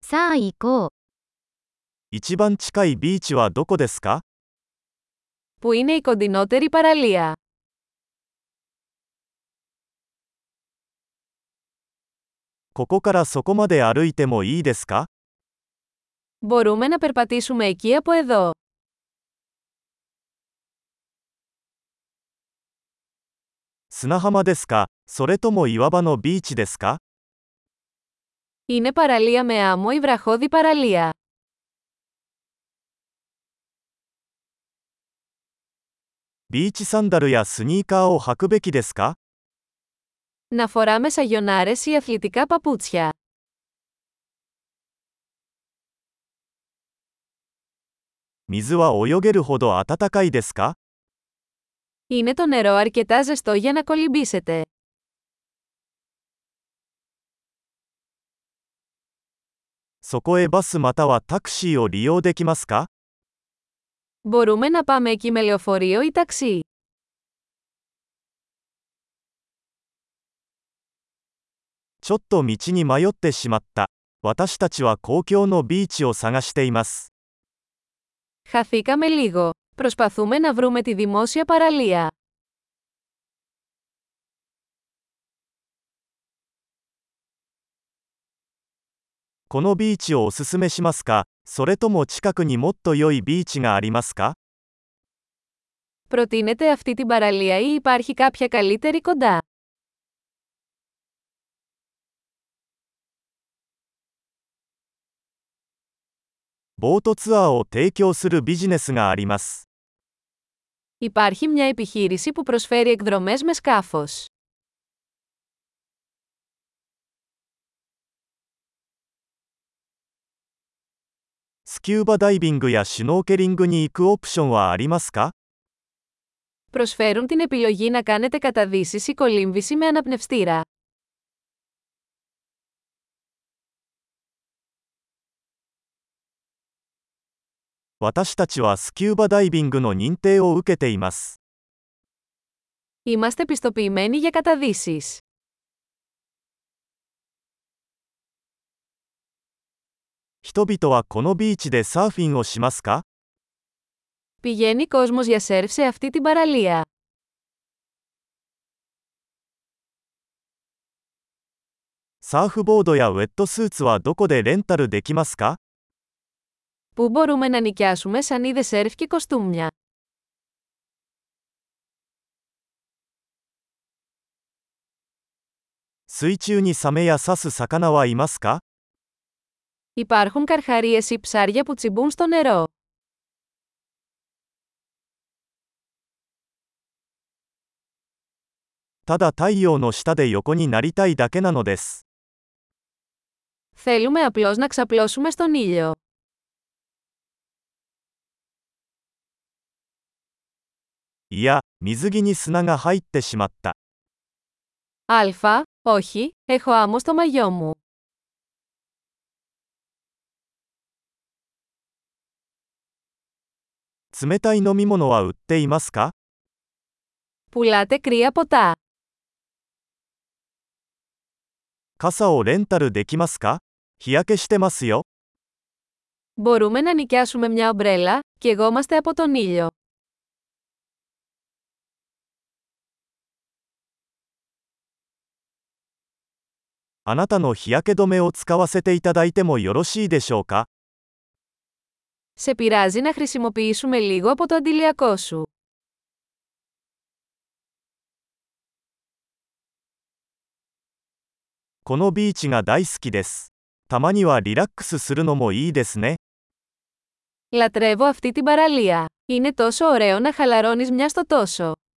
さあ行こう。 一番近いビーチはどこですか？ Πού είναι η κοντινότερη παραλία? ここからそこまで歩いてもいいですか？ Μπορούμε να περπατήσουμε εκεί από εδώ. 砂浜ですか？それとも岩場のビーチですか？ Είναι παραλία με άμμο ή βραχώδη παραλία? ビーチサンダルやスニーカーを履くべきですか？ Να φοράμε σαγιονάρες ή αθλητικά παπούτσια. 水は泳げるほど暖かいですか？ Είναι το νερό αρκετά ζεστό για να κολυμπήσετε? そこへバスまたはタクシーを利用できますか？ Μπορούμε να πάμε εκεί με λεωφορείο ή ταξί. ちょっと道に迷ってしまった。私たちは公共のビーチを探しています。 Χαθήκαμε λίγο. Προσπαθούμε να βρούμε τη δημόσια παραλία. このビーチをおすすめしますか？それとも近くにもっと良いビーチがありますか？ Προτείνετε αυτή την παραλία ή υπάρχει κάποια καλύτερη κοντά? ボートツアーを提供するビジネスがあります。 Υπάρχει μια επιχείρηση που προσφέρει εκδρομές με σκάφος. スキューバダイビングやシュノーケリングに行くオプションはありますか？ Προσφέρουν την επιλογή να κάνετε καταδύσεις ή κολύμβηση με αναπνευστήρα. 私たちはスキューバダイビングの認定を受けています。 Είμαστε πιστοποιημένοι για καταδύσεις. 人々はこのビーチでサーフィンをしますか？ Πηγαίνει κόσμος για σερφ σε αυτή την παραλία. サーフボードやウェットスーツはどこでレンタルできますか？ Πού μπορούμε να νοικιάσουμε σανίδες σερφ και κοστούμια? 水中にサメや刺す魚はいますか？ Υπάρχουν καρχαρίες ή ψάρια που τσιμπούν στο νερό. ただ太陽の下で横になりたいだけなのです。 Θέλουμε απλώς να ξαπλώσουμε στον ήλιο. いや、水着に砂が入ってしまった。 Α, όχι, έχω άμμο στο μαγιό μου. 冷たい飲み物は売っていますか？ Πουλάτε κρύα ποτά. 傘をレンタルできますか？日焼けしてますよ。 Μπορούμε να νοικιάσουμε μια ομπρέλα, καιγόμαστε από τον ήλιο. あなたの日焼け止めを使わせていただいてもよろしいでしょうか？ Σε πειράζει να χρησιμοποιήσουμε λίγο από το αντιλιακό σου? このビーチが大好きです。たまにはリラックスするのもいいですね。 Λατρεύω αυτή την παραλία. Είναι τόσο ωραίο να χαλαρώνεις μια στο τόσο.